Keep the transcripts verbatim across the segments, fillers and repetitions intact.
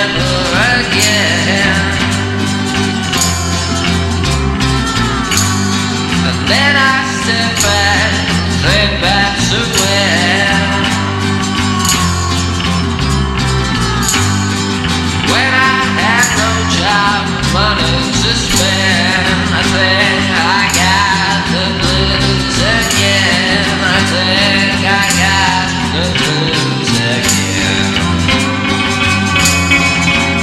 never again. And then I step back, think back to when When I had no job, money to spend. I think I got the blues again. I think I got the blues again.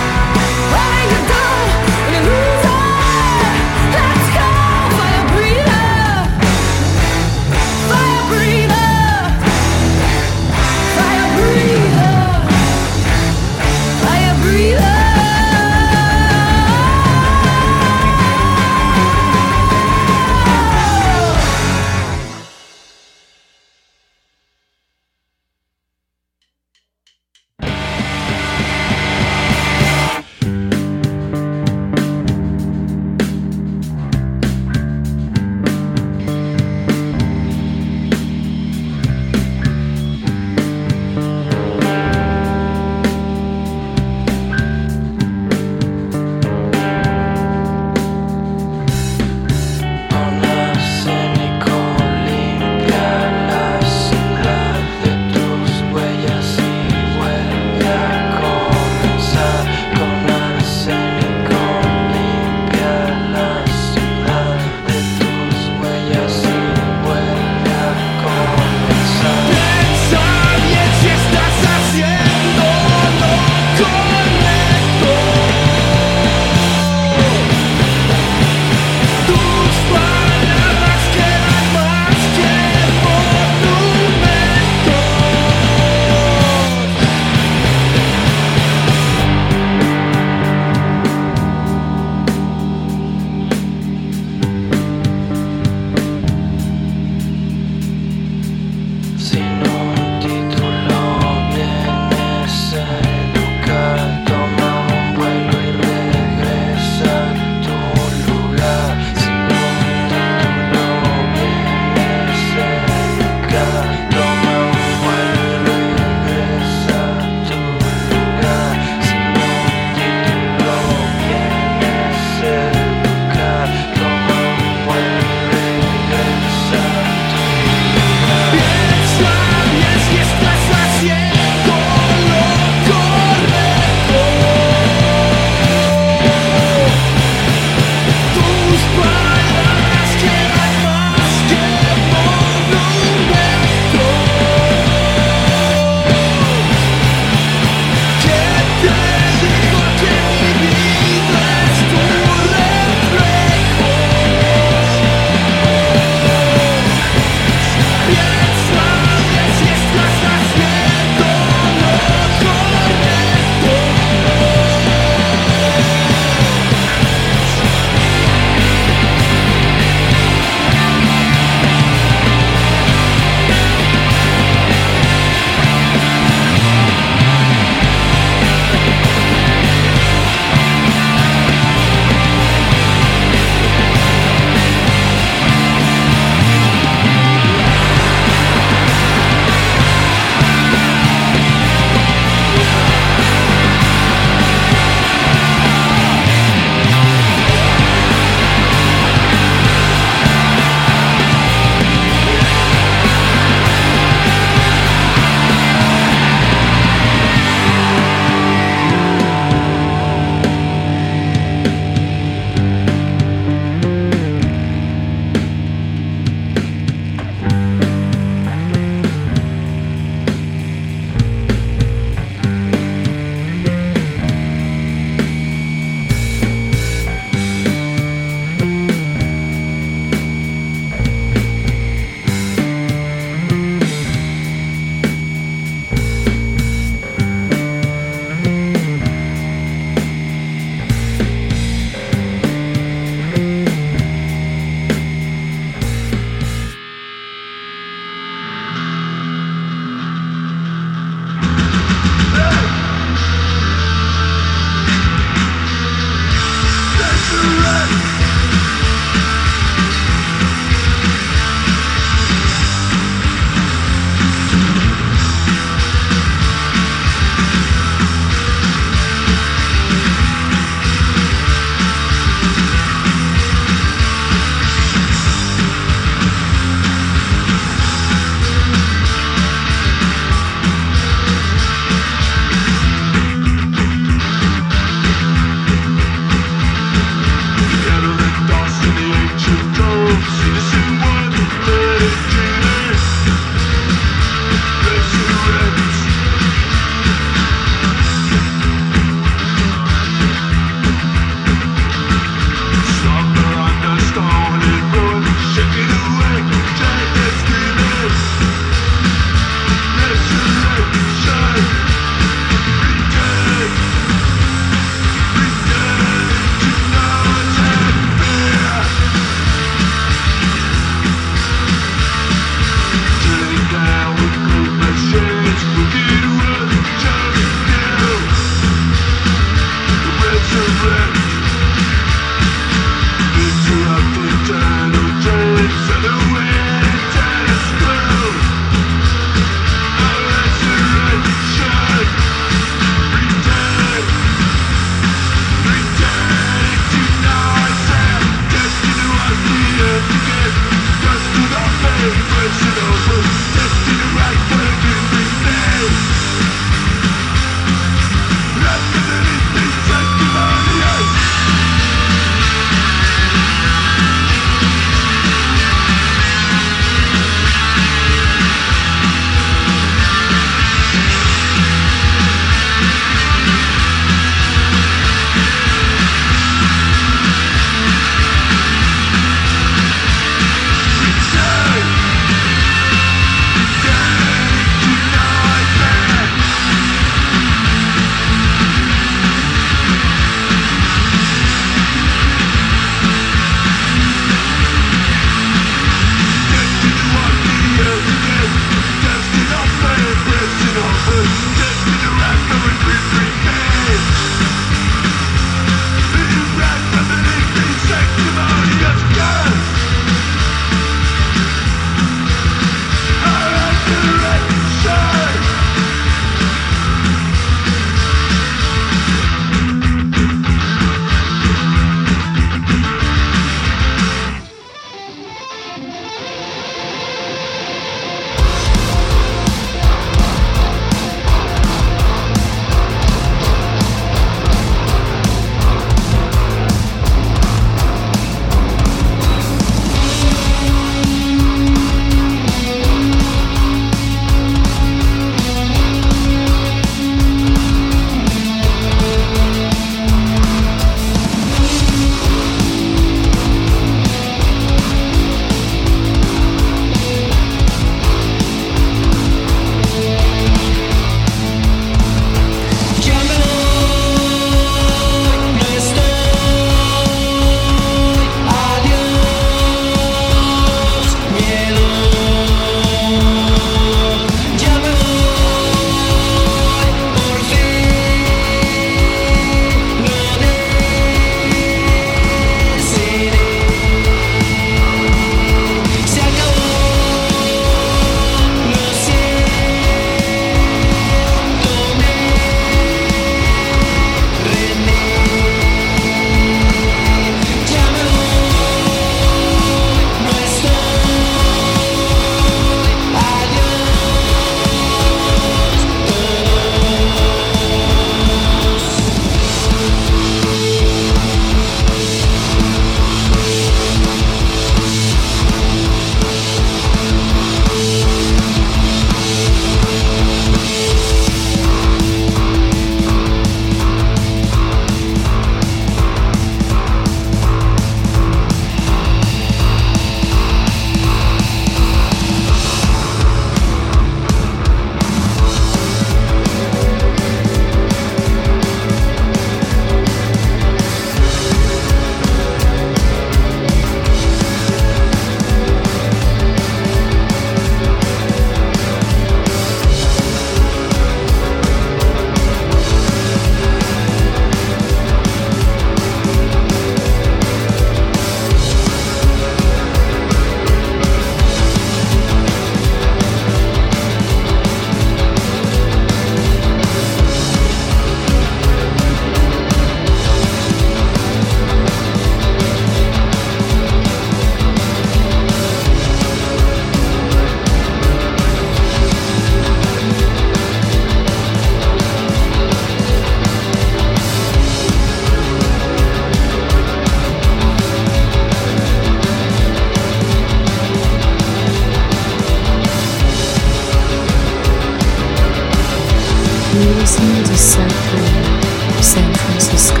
Circle, San Francisco.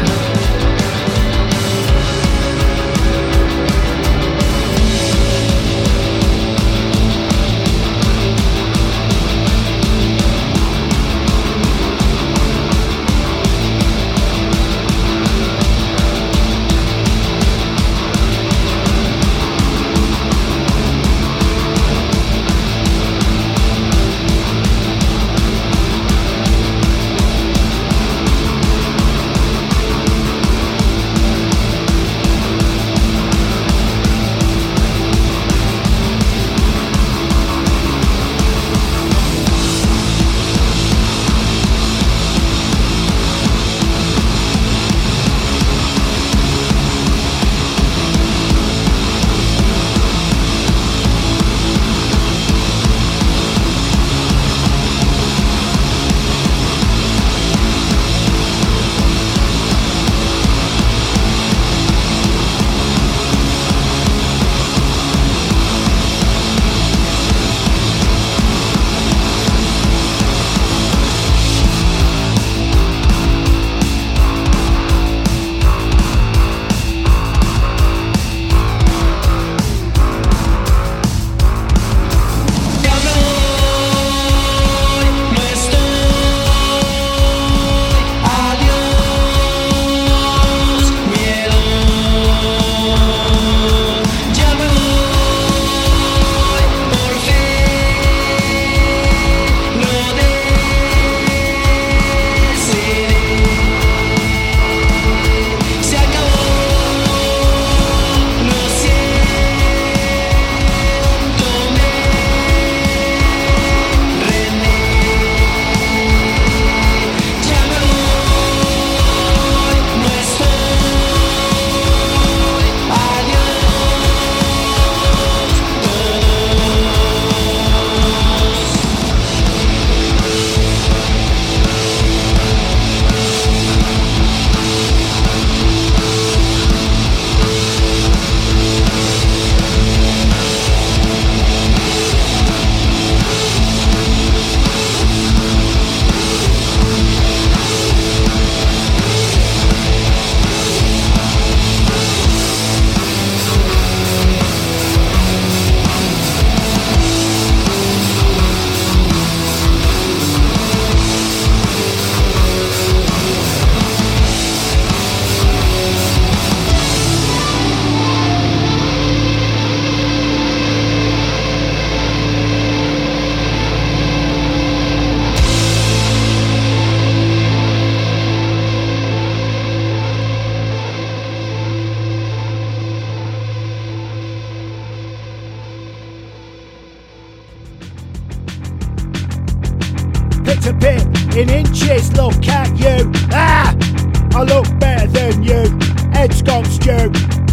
To bit in inches, look at you. Ah, I look better than you. Head's gone stew.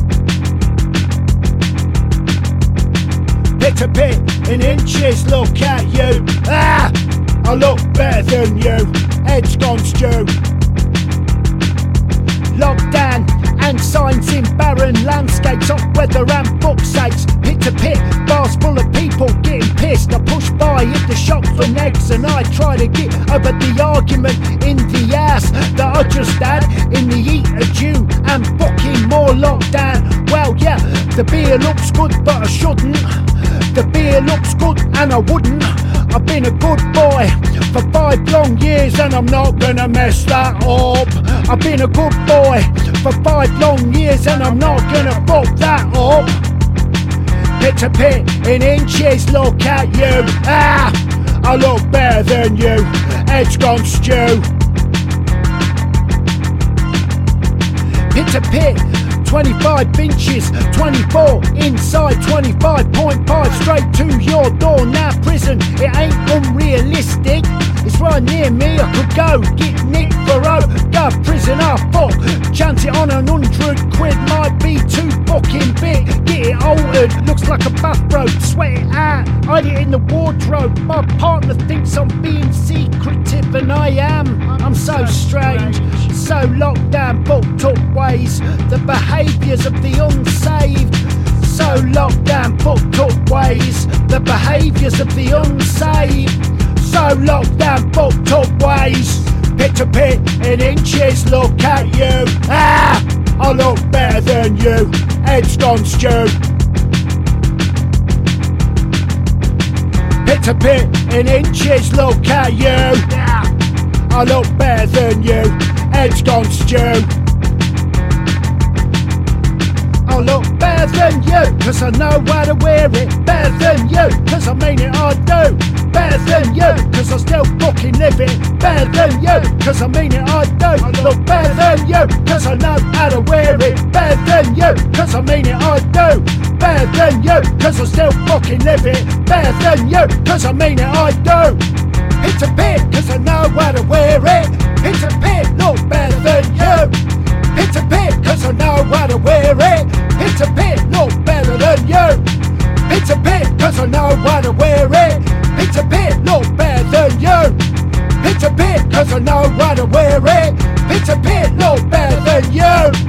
Bit to bit in inches, look at you. Ah, I look better than you. Head's gone stew. Lockdown and signs in barren landscapes, off weather and book sakes. Pit to pit, bars full of people getting pissed. I push by, hit the shop for negs, and I try to get over the argument in the ass that I just had in the heat of June and fucking more lockdown. Well, yeah, the beer looks good, but I shouldn't. The beer looks good, and I wouldn't. I've been a good boy for five long years, and I'm not gonna mess that up. I've been a good boy for five long years, and I'm not gonna fuck that up. Pit to pit in inches, look at you. Ah, I look better than you. Head's gone stew. Pit to pit, twenty-five inches, twenty-four inside, twenty-five point five straight to your door. Now prison, it ain't unrealistic. It's right near me, I could go get nicked for oh. Go prison, ah fuck. Chance it on an hundred quid might be too fucking big. Get it altered, looks like a bathrobe. Sweat it out, hide it in the wardrobe. My partner thinks I'm being secretive, and I am. I'm so strange, so locked down, booked up ways. The behaviours of the unsaved. So locked down, booked up ways. The behaviours of the unsaved. So locked down, booked up ways. Pit to pit in inches, look at you. Ah, I look better than you. Head's gone stew. Pit to pit in inches, look at you. Ah, I look better than you. Head's gone stew. I look better than you, cause I know how to wear it. Better than you, cause I mean it, I do. Better than you, cause I still fucking live it. Better than you, cause I mean it, I do. I look better than you, cause I know how to wear it. Better than you, cause I mean it, I do. Better than you, cause I still fucking live it. Better than you, cause I mean it, I do. It's a pit, cause I know how to wear it. It's a pit, look better than you. It's a pit, cause I know how to wear it. It's a pit, look better than you. It's a pit, cause I know how to wear it. It's a pit, look better than you. It's a pit, cause I know how to wear it. It's a pit, look better than you.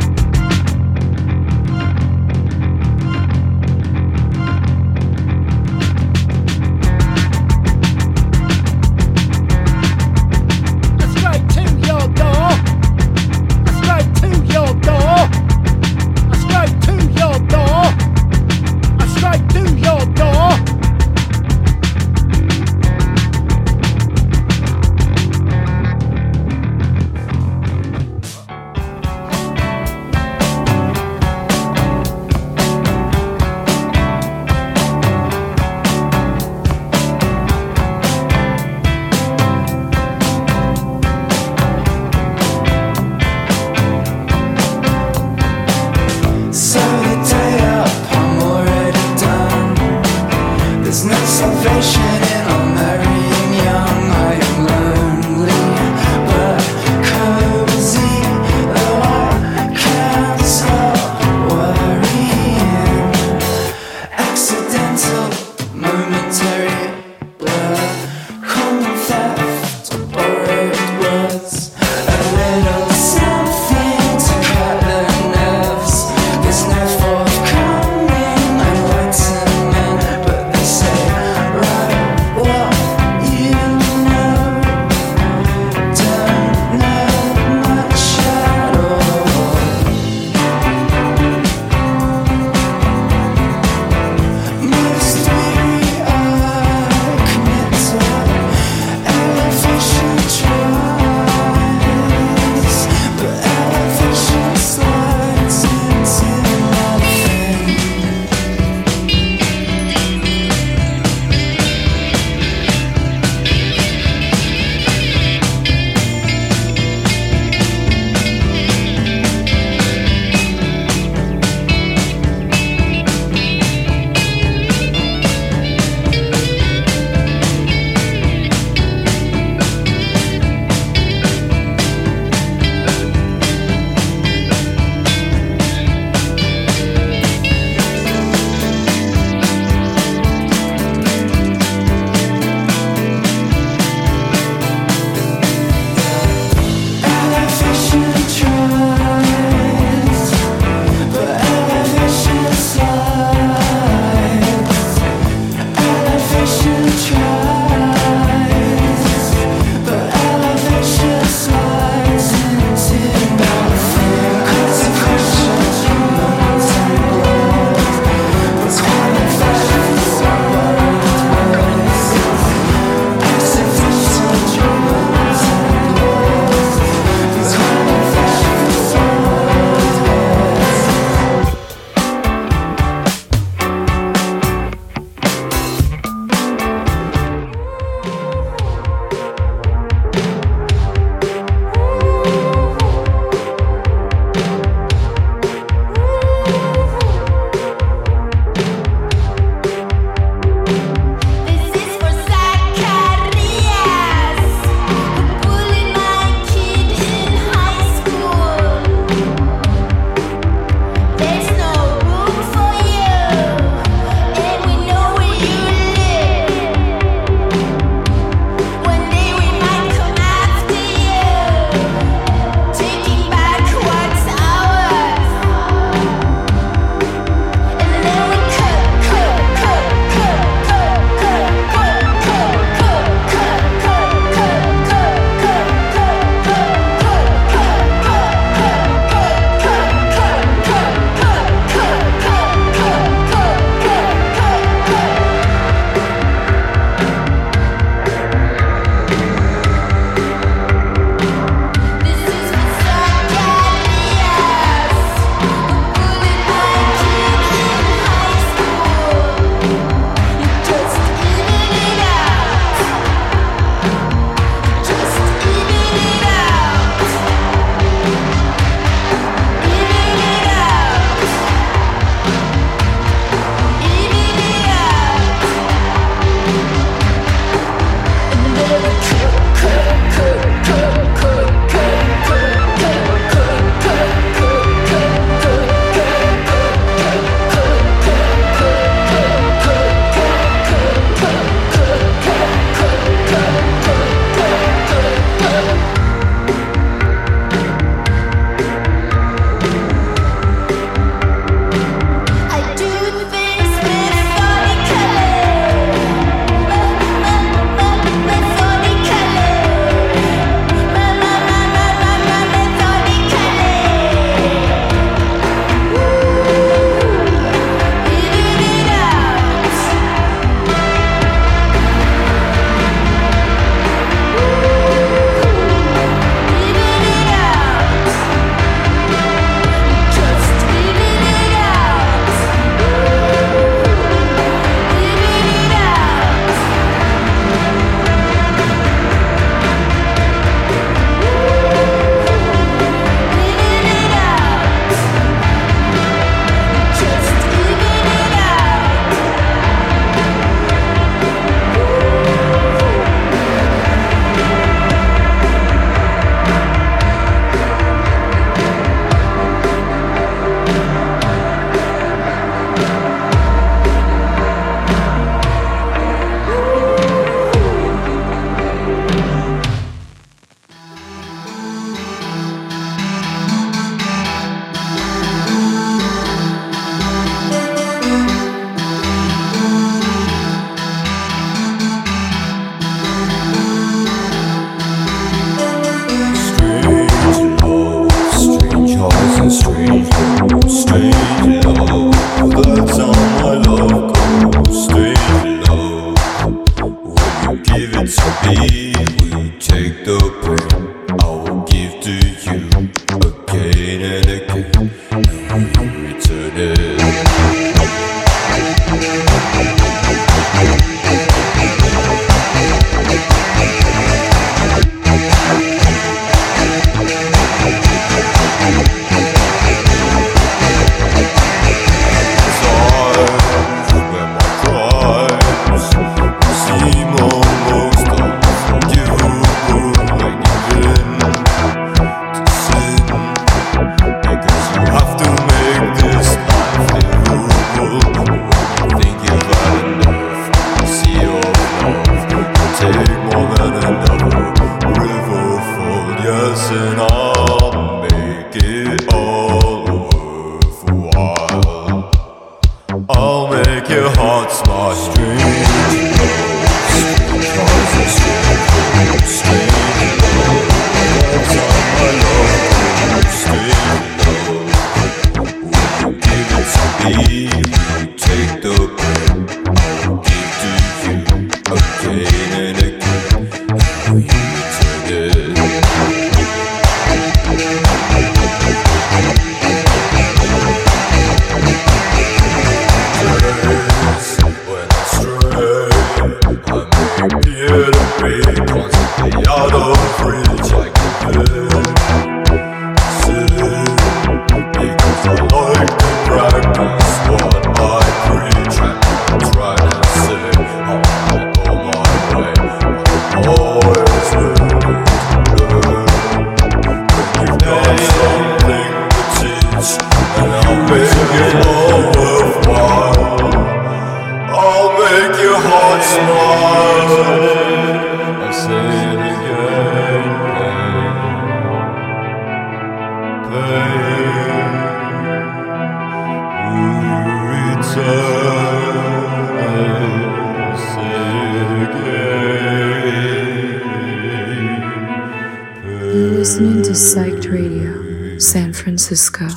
Listening to Psyched Radio, San Francisco.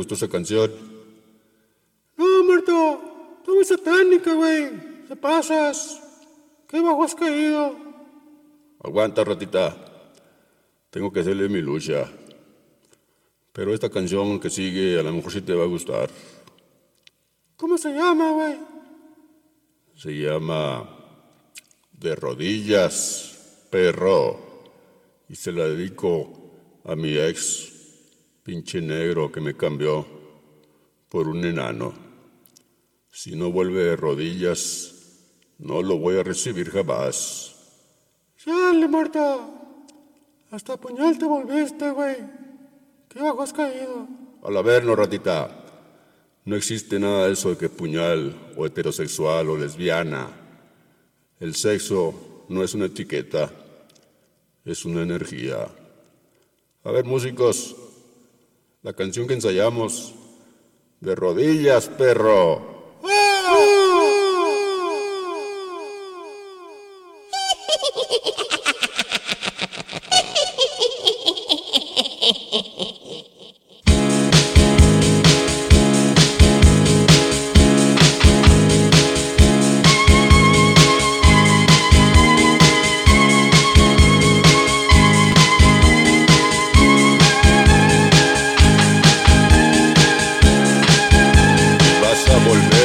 gustó esa canción. No, Marta, tú muy satánica, güey. Te pasas. Qué bajo has caído. Aguanta, ratita. Tengo que hacerle mi lucha. Pero esta canción que sigue a lo mejor sí te va a gustar. ¿Cómo se llama, güey? Se llama De rodillas, perro. Y se la dedico a mi ex, pinche negro que me cambió por un enano. Si no vuelve de rodillas, no lo voy a recibir jamás. Chale, Marta. Hasta puñal te volviste, güey. Qué bajo has caído. Al haberlo, ratita. No existe nada de eso de que puñal o heterosexual o lesbiana. El sexo no es una etiqueta, es una energía. A ver, músicos, la canción que ensayamos, De rodillas, perro. Vas a volver.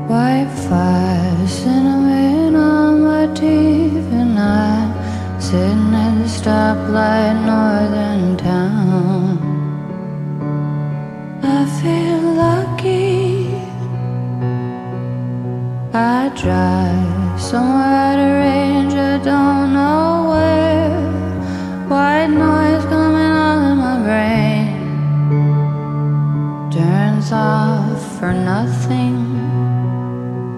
Wi-Fi, cinnamon on my teeth, and I'm sitting at the stoplight, northern town. I feel lucky. I drive somewhere out of range, I don't know where. White noise coming on in my brain turns off for nothing.